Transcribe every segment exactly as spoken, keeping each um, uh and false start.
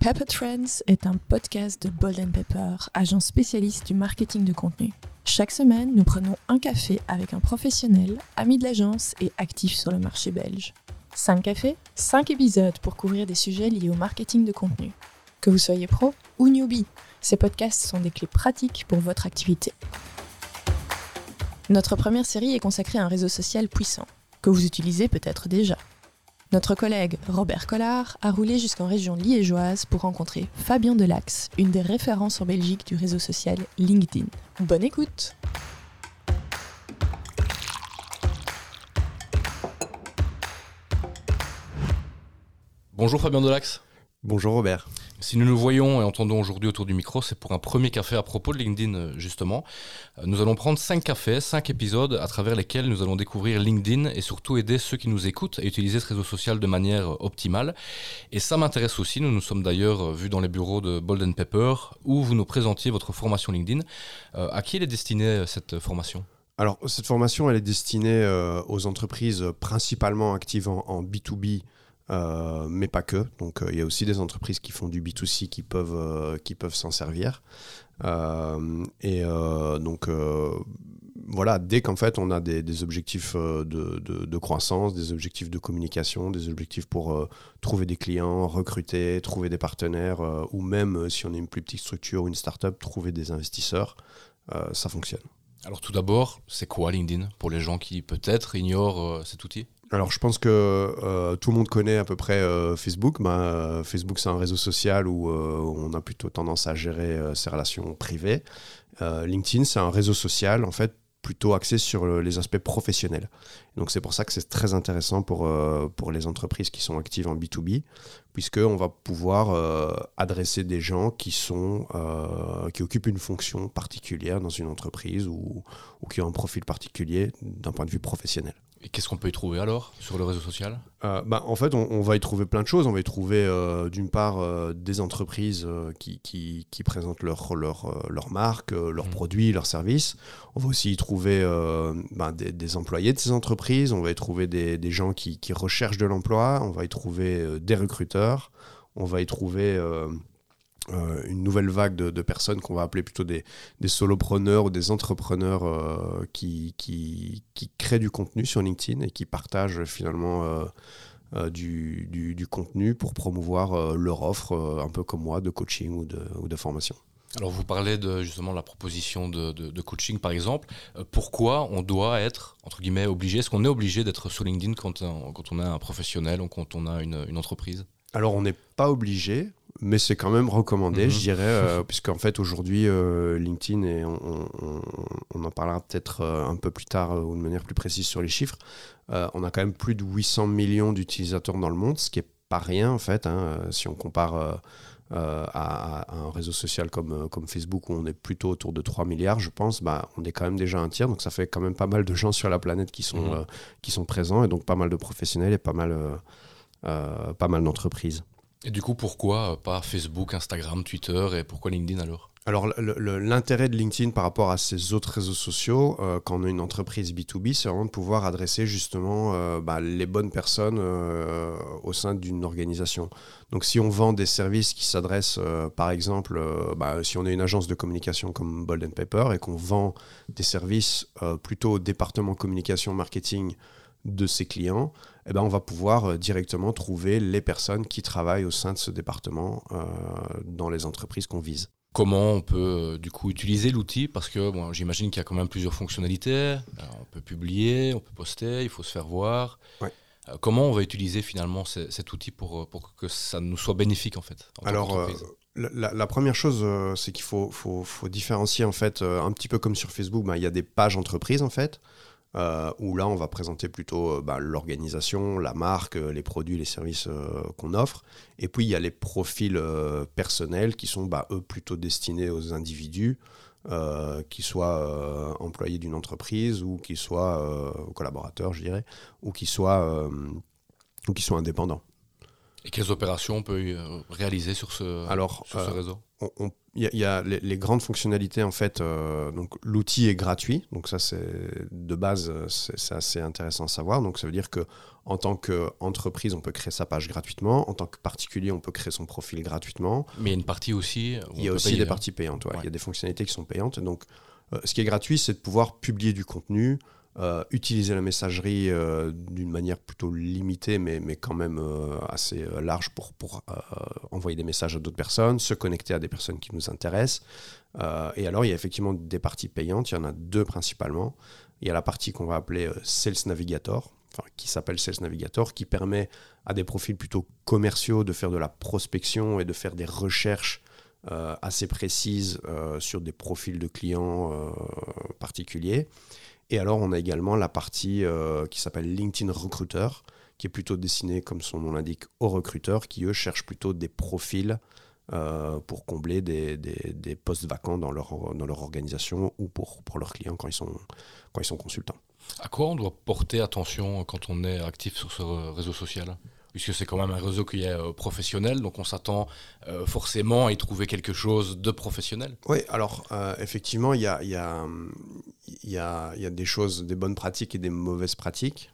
Pepper Trends est un podcast de Bold and Pepper, agence spécialiste du marketing de contenu. Chaque semaine, nous prenons un café avec un professionnel, ami de l'agence et actif sur le marché belge. cinq cafés, cinq épisodes pour couvrir des sujets liés au marketing de contenu. Que vous soyez pro ou newbie, ces podcasts sont des clés pratiques pour votre activité. Notre première série est consacrée à un réseau social puissant, que vous utilisez peut-être déjà. Notre collègue Robert Collard a roulé jusqu'en région liégeoise pour rencontrer Fabien Delax, une des références en Belgique du réseau social LinkedIn. Bonne écoute! Bonjour Fabien Delax. Bonjour Robert. Si nous nous voyons et entendons aujourd'hui autour du micro, c'est pour un premier café à propos de LinkedIn justement. Nous allons prendre cinq cafés, cinq épisodes à travers lesquels nous allons découvrir LinkedIn et surtout aider ceux qui nous écoutent à utiliser ce réseau social de manière optimale. Et ça m'intéresse aussi, nous nous sommes d'ailleurs vus dans les bureaux de Bold and Pepper où vous nous présentiez votre formation LinkedIn. Euh, à qui elle est destinée cette formation ? Alors cette formation elle est destinée euh, aux entreprises principalement actives en, en B deux B. Euh, mais pas que, donc il euh, y a aussi des entreprises qui font du B deux C qui peuvent, euh, qui peuvent s'en servir euh, et euh, donc euh, voilà, dès qu'en fait on a des, des objectifs de, de, de croissance, des objectifs de communication, des objectifs pour euh, trouver des clients, recruter, trouver des partenaires euh, ou même euh, si on est une plus petite structure ou une start-up, trouver des investisseurs, euh, ça fonctionne. Alors tout d'abord, c'est quoi LinkedIn pour les gens qui peut-être ignorent euh, cet outil ? Alors je pense que euh, tout le monde connaît à peu près euh, Facebook. Ben, euh, Facebook c'est un réseau social où euh, on a plutôt tendance à gérer euh, ses relations privées. Euh, LinkedIn c'est un réseau social en fait plutôt axé sur les aspects professionnels. Donc c'est pour ça que c'est très intéressant pour, euh, pour les entreprises qui sont actives en B deux B, puisqu'on va pouvoir euh, adresser des gens qui, sont, euh, qui occupent une fonction particulière dans une entreprise ou, ou qui ont un profil particulier d'un point de vue professionnel. Et qu'est-ce qu'on peut y trouver alors sur le réseau social ? euh, bah, En fait, on, on va y trouver plein de choses. On va y trouver euh, d'une part euh, des entreprises euh, qui, qui, qui présentent leur, leur, euh, leur marque, euh, leurs mmh. produits, leurs services. On va aussi y trouver euh, bah, des, des employés de ces entreprises. On va y trouver des, des gens qui, qui recherchent de l'emploi. On va y trouver euh, des recruteurs. On va y trouver... Euh, Euh, une nouvelle vague de, de personnes qu'on va appeler plutôt des, des solopreneurs ou des entrepreneurs euh, qui, qui, qui créent du contenu sur LinkedIn et qui partagent finalement euh, euh, du, du, du contenu pour promouvoir euh, leur offre, euh, un peu comme moi, de coaching ou de, ou de formation. Alors vous parlez de justement la proposition de, de, de coaching par exemple. Euh, pourquoi on doit être, entre guillemets, obligé ? Est-ce qu'on est obligé d'être sur LinkedIn quand on, quand on est un professionnel ou quand on a une, une entreprise ? Alors on n'est pas obligé, mais c'est quand même recommandé, mmh. je dirais, euh, puisqu'en fait aujourd'hui euh, LinkedIn, et on, on, on en parlera peut-être euh, un peu plus tard euh, ou de manière plus précise sur les chiffres, euh, on a quand même plus de huit cents millions d'utilisateurs dans le monde, ce qui n'est pas rien en fait, hein, si on compare euh, euh, à, à un réseau social comme, comme Facebook où on est plutôt autour de trois milliards, je pense, bah, on est quand même déjà un tiers, donc ça fait quand même pas mal de gens sur la planète qui sont, mmh. euh, qui sont présents, et donc pas mal de professionnels et pas mal, euh, euh, pas mal d'entreprises. Et du coup, pourquoi pas Facebook, Instagram, Twitter et pourquoi LinkedIn alors ? Alors, le, le, l'intérêt de LinkedIn par rapport à ces autres réseaux sociaux, euh, quand on a une entreprise B deux B, c'est vraiment de pouvoir adresser justement euh, bah, les bonnes personnes euh, au sein d'une organisation. Donc, si on vend des services qui s'adressent, euh, par exemple, euh, bah, si on est une agence de communication comme Bold and Pepper et qu'on vend des services euh, plutôt au département communication marketing de ses clients, eh ben on va pouvoir euh, directement trouver les personnes qui travaillent au sein de ce département euh, dans les entreprises qu'on vise. Comment on peut euh, du coup utiliser l'outil ? Parce que bon, j'imagine qu'il y a quand même plusieurs fonctionnalités. Alors, on peut publier, on peut poster, il faut se faire voir. Ouais. Euh, comment on va utiliser finalement c- cet outil pour, pour que ça nous soit bénéfique en fait en Alors, euh, la, la première chose, euh, c'est qu'il faut, faut, faut différencier en fait, euh, un petit peu comme sur Facebook, bah, il y a des pages entreprises en fait. Euh, où là on va présenter plutôt euh, bah, l'organisation, la marque, euh, les produits, les services euh, qu'on offre. Et puis il y a les profils euh, personnels qui sont bah, eux plutôt destinés aux individus, euh, qui soient euh, employés d'une entreprise ou qui soient euh, collaborateurs, je dirais, ou qui soient, euh, ou qui soient indépendants. Et quelles opérations on peut euh, réaliser sur ce, Alors, sur ce euh, réseau? on, on, Il y, y a les, les grandes fonctionnalités, en fait. Euh, donc, l'outil est gratuit. Donc, ça, c'est de base, c'est, c'est assez intéressant à savoir. Donc, ça veut dire qu'en tant qu'entreprise, on peut créer sa page gratuitement. En tant que particulier, on peut créer son profil gratuitement. Mais il y a une partie aussi. Il y a aussi payer, des hein. parties payantes. Ouais. Ouais. Il y a des fonctionnalités qui sont payantes. Donc, euh, ce qui est gratuit, c'est de pouvoir publier du contenu, euh, utiliser la messagerie euh, d'une manière plutôt limitée, mais, mais quand même euh, assez euh, large pour, pour euh, envoyer des messages à d'autres personnes, se connecter à des personnes qui nous intéressent. Euh, et alors, il y a effectivement des parties payantes. Il y en a deux principalement. Il y a la partie qu'on va appeler euh, Sales Navigator, enfin, qui s'appelle Sales Navigator, qui permet à des profils plutôt commerciaux de faire de la prospection et de faire des recherches euh, assez précises euh, sur des profils de clients euh, particuliers. Et alors, on a également la partie euh, qui s'appelle LinkedIn Recruiter, qui est plutôt destinée, comme son nom l'indique, aux recruteurs qui, eux, cherchent plutôt des profils euh, pour combler des, des, des postes vacants dans leur, dans leur organisation ou pour, pour leurs clients quand ils sont, quand ils sont consultants. À quoi on doit porter attention quand on est actif sur ce réseau social ? Puisque c'est quand même un réseau qui est euh, professionnel, donc on s'attend euh, forcément à y trouver quelque chose de professionnel. Oui, alors euh, effectivement, il y a, y, a, y, a, y a des choses, des bonnes pratiques et des mauvaises pratiques.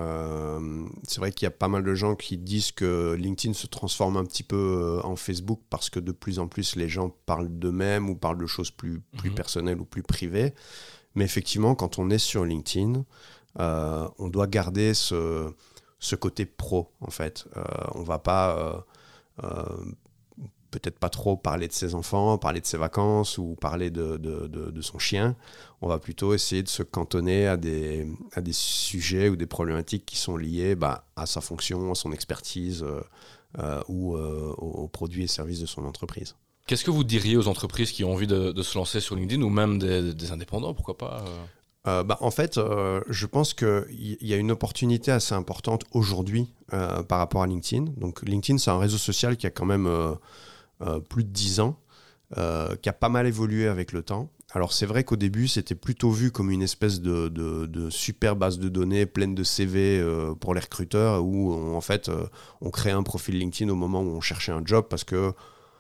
Euh, c'est vrai qu'il y a pas mal de gens qui disent que LinkedIn se transforme un petit peu en Facebook parce que de plus en plus les gens parlent d'eux-mêmes ou parlent de choses plus, plus mmh. personnelles ou plus privées. Mais effectivement, quand on est sur LinkedIn, euh, on doit garder ce... ce côté pro, en fait. Euh, on va pas, euh, euh, peut-être pas trop parler de ses enfants, parler de ses vacances ou parler de, de, de, de son chien. On va plutôt essayer de se cantonner à des, à des sujets ou des problématiques qui sont liées bah, à sa fonction, à son expertise euh, euh, ou euh, aux produits et services de son entreprise. Qu'est-ce que vous diriez aux entreprises qui ont envie de, de se lancer sur LinkedIn ou même des, des indépendants, pourquoi pas euh... Euh, bah, en fait, euh, je pense qu'il y, y a une opportunité assez importante aujourd'hui euh, par rapport à LinkedIn. Donc, LinkedIn, c'est un réseau social qui a quand même euh, euh, plus de dix ans, euh, qui a pas mal évolué avec le temps. Alors, c'est vrai qu'au début, c'était plutôt vu comme une espèce de, de, de super base de données pleine de C V euh, pour les recruteurs, où on, en fait, euh, on créait un profil LinkedIn au moment où on cherchait un job parce que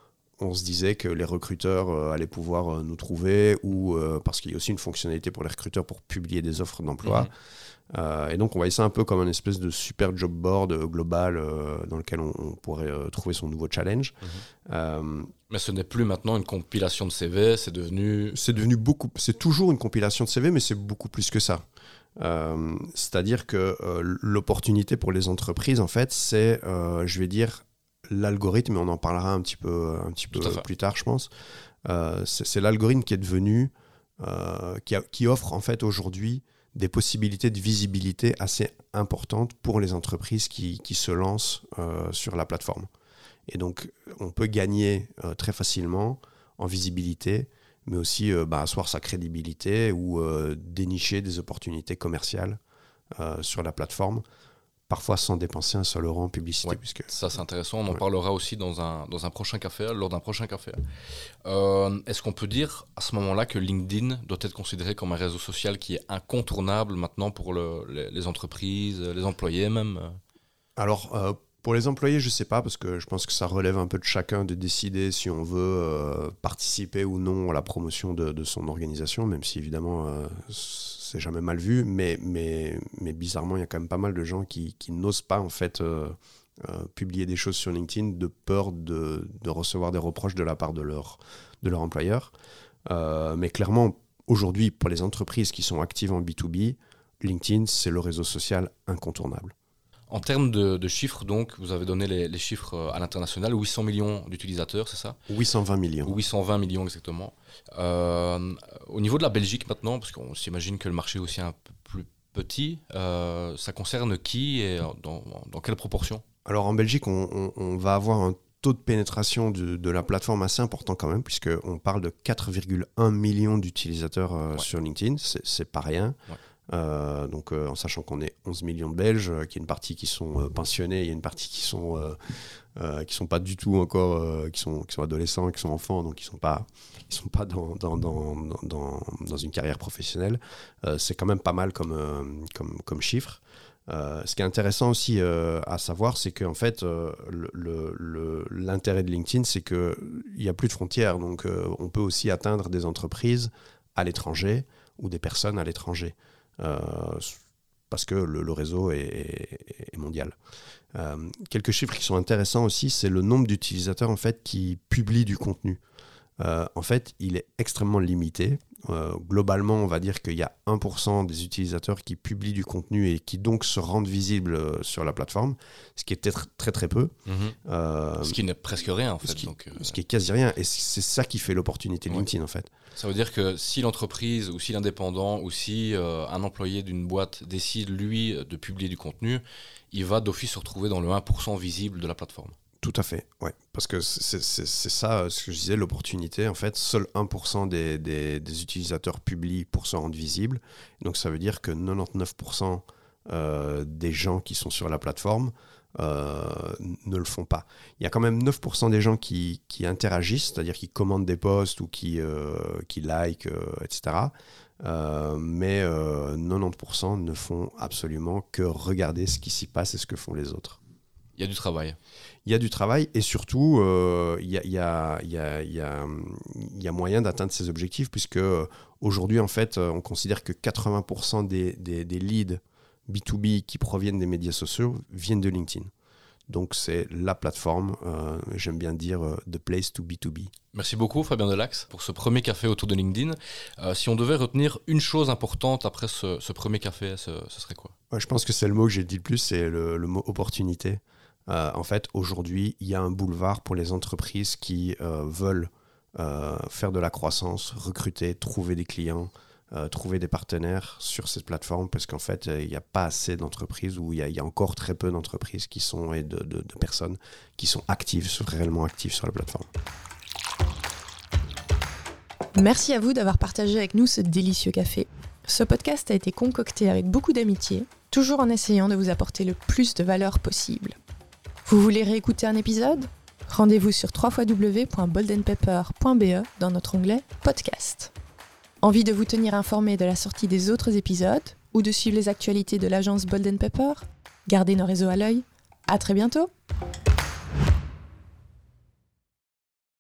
on se disait que les recruteurs euh, allaient pouvoir euh, nous trouver ou euh, parce qu'il y a aussi une fonctionnalité pour les recruteurs pour publier des offres d'emploi. Mmh. Euh, et donc, on voyait ça un peu comme une espèce de super job board euh, global euh, dans lequel on, on pourrait euh, trouver son nouveau challenge. Mmh. Euh, Mais ce n'est plus maintenant une compilation de C V, c'est devenu... C'est devenu beaucoup... C'est toujours une compilation de C V, mais c'est beaucoup plus que ça. Euh, c'est-à-dire que euh, l'opportunité pour les entreprises, en fait, c'est, euh, je vais dire... l'algorithme, et on en parlera un petit peu, un petit peu plus tard, je pense. Euh, c'est, c'est l'algorithme qui est devenu, euh, qui, a, qui offre en fait aujourd'hui des possibilités de visibilité assez importantes pour les entreprises qui, qui se lancent euh, sur la plateforme. Et donc, on peut gagner euh, très facilement en visibilité, mais aussi euh, bah, asseoir sa crédibilité ou euh, dénicher des opportunités commerciales euh, sur la plateforme, parfois sans dépenser un seul euro en publicité. Ouais, puisque... Ça, c'est intéressant. On en ouais. parlera aussi dans un, dans un prochain café, lors d'un prochain café. Euh, est-ce qu'on peut dire à ce moment-là que LinkedIn doit être considéré comme un réseau social qui est incontournable maintenant pour le, les, les entreprises, les employés même ? Alors, euh, pour les employés, je ne sais pas, parce que je pense que ça relève un peu de chacun de décider si on veut euh, participer ou non à la promotion de, de son organisation, même si évidemment... Euh, c'est jamais mal vu, mais, mais, mais bizarrement, il y a quand même pas mal de gens qui, qui n'osent pas en fait euh, euh, publier des choses sur LinkedIn de peur de, de recevoir des reproches de la part de leur, de leur employeur. Euh, mais clairement, aujourd'hui, pour les entreprises qui sont actives en B deux B, LinkedIn, c'est le réseau social incontournable. En termes de, de chiffres, donc, vous avez donné les, les chiffres à l'international, huit cents millions d'utilisateurs, c'est ça ? huit cent vingt millions. huit cent vingt millions exactement. Euh, au niveau de la Belgique maintenant, parce qu'on s'imagine que le marché est aussi un peu plus petit, euh, ça concerne qui et dans, dans quelle proportion ? Alors en Belgique, on, on, on va avoir un taux de pénétration de, de la plateforme assez important quand même, puisqu'on parle de quatre virgule un millions d'utilisateurs euh, ouais. sur LinkedIn, c'est, c'est pas rien. Ouais. Euh, donc euh, en sachant qu'on est onze millions de Belges, euh, qu'il y a une partie qui sont euh, pensionnés, il y a une partie qui sont euh, euh, qui sont pas du tout encore, euh, qui sont qui sont adolescents, qui sont enfants, donc ils sont pas ils sont pas dans dans dans dans, dans une carrière professionnelle. Euh, c'est quand même pas mal comme euh, comme comme chiffre. Euh, ce qui est intéressant aussi euh, à savoir, c'est qu'en fait, euh, le, le, le, l'intérêt de LinkedIn, c'est qu'il n'y a plus de frontières. Donc, euh, on peut aussi atteindre des entreprises à l'étranger ou des personnes à l'étranger. Euh, parce que le, le réseau est, est, est mondial. Euh, quelques chiffres qui sont intéressants aussi, c'est le nombre d'utilisateurs en fait, qui publient du contenu. Euh, en fait, il est extrêmement limité. Euh, globalement, on va dire qu'il y a un pour cent des utilisateurs qui publient du contenu et qui donc se rendent visibles euh, sur la plateforme, ce qui est peut-être très très peu. Mmh. Euh, ce qui n'est presque rien en fait. Ce qui, donc, euh... ce qui est quasi rien. Et c'est ça qui fait l'opportunité de ouais. LinkedIn en fait. Ça veut dire que si l'entreprise ou si l'indépendant ou si euh, un employé d'une boîte décide lui de publier du contenu, il va d'office se retrouver dans le un pour cent visible de la plateforme. Tout à fait, ouais. Parce que c'est, c'est, c'est ça, ce que je disais, l'opportunité. En fait, seul un pour cent des, des, des utilisateurs publient pour se rendre visibles. Donc, ça veut dire que quatre-vingt-dix-neuf pour cent euh, des gens qui sont sur la plateforme euh, ne le font pas. Il y a quand même neuf pour cent des gens qui, qui interagissent, c'est-à-dire qui commentent des posts ou qui, euh, qui likent, euh, et cetera. Euh, mais euh, quatre-vingt-dix pour cent ne font absolument que regarder ce qui s'y passe et ce que font les autres. Il y a du travail. Il y a du travail et surtout, euh, il, y a, il, y a, il, y a, il, y a, il y a moyen d'atteindre ces objectifs puisque euh, aujourd'hui, en fait, on considère que quatre-vingts pour cent des, des, des leads B deux B qui proviennent des médias sociaux viennent de LinkedIn. Donc, c'est la plateforme, euh, j'aime bien dire, euh, the place to B deux B. Merci beaucoup, Fabien Delax, pour ce premier café autour de LinkedIn. Euh, si on devait retenir une chose importante après ce, ce premier café, ce, ce serait quoi ? Ouais, je pense que c'est le mot que j'ai dit le plus, c'est le, le mot opportunité. Euh, en fait, aujourd'hui, il y a un boulevard pour les entreprises qui euh, veulent euh, faire de la croissance, recruter, trouver des clients, euh, trouver des partenaires sur cette plateforme, parce qu'en fait, il n'y a pas assez d'entreprises, ou il y, y a encore très peu d'entreprises qui sont, et de, de, de personnes qui sont actives, réellement actives sur la plateforme. Merci à vous d'avoir partagé avec nous ce délicieux café. Ce podcast a été concocté avec beaucoup d'amitié, toujours en essayant de vous apporter le plus de valeur possible. Vous voulez réécouter un épisode ? Rendez-vous sur w w w point bold and pepper point b e dans notre onglet Podcast. Envie de vous tenir informé de la sortie des autres épisodes ou de suivre les actualités de l'agence Bold and Pepper ? Gardez nos réseaux à l'œil. À très bientôt !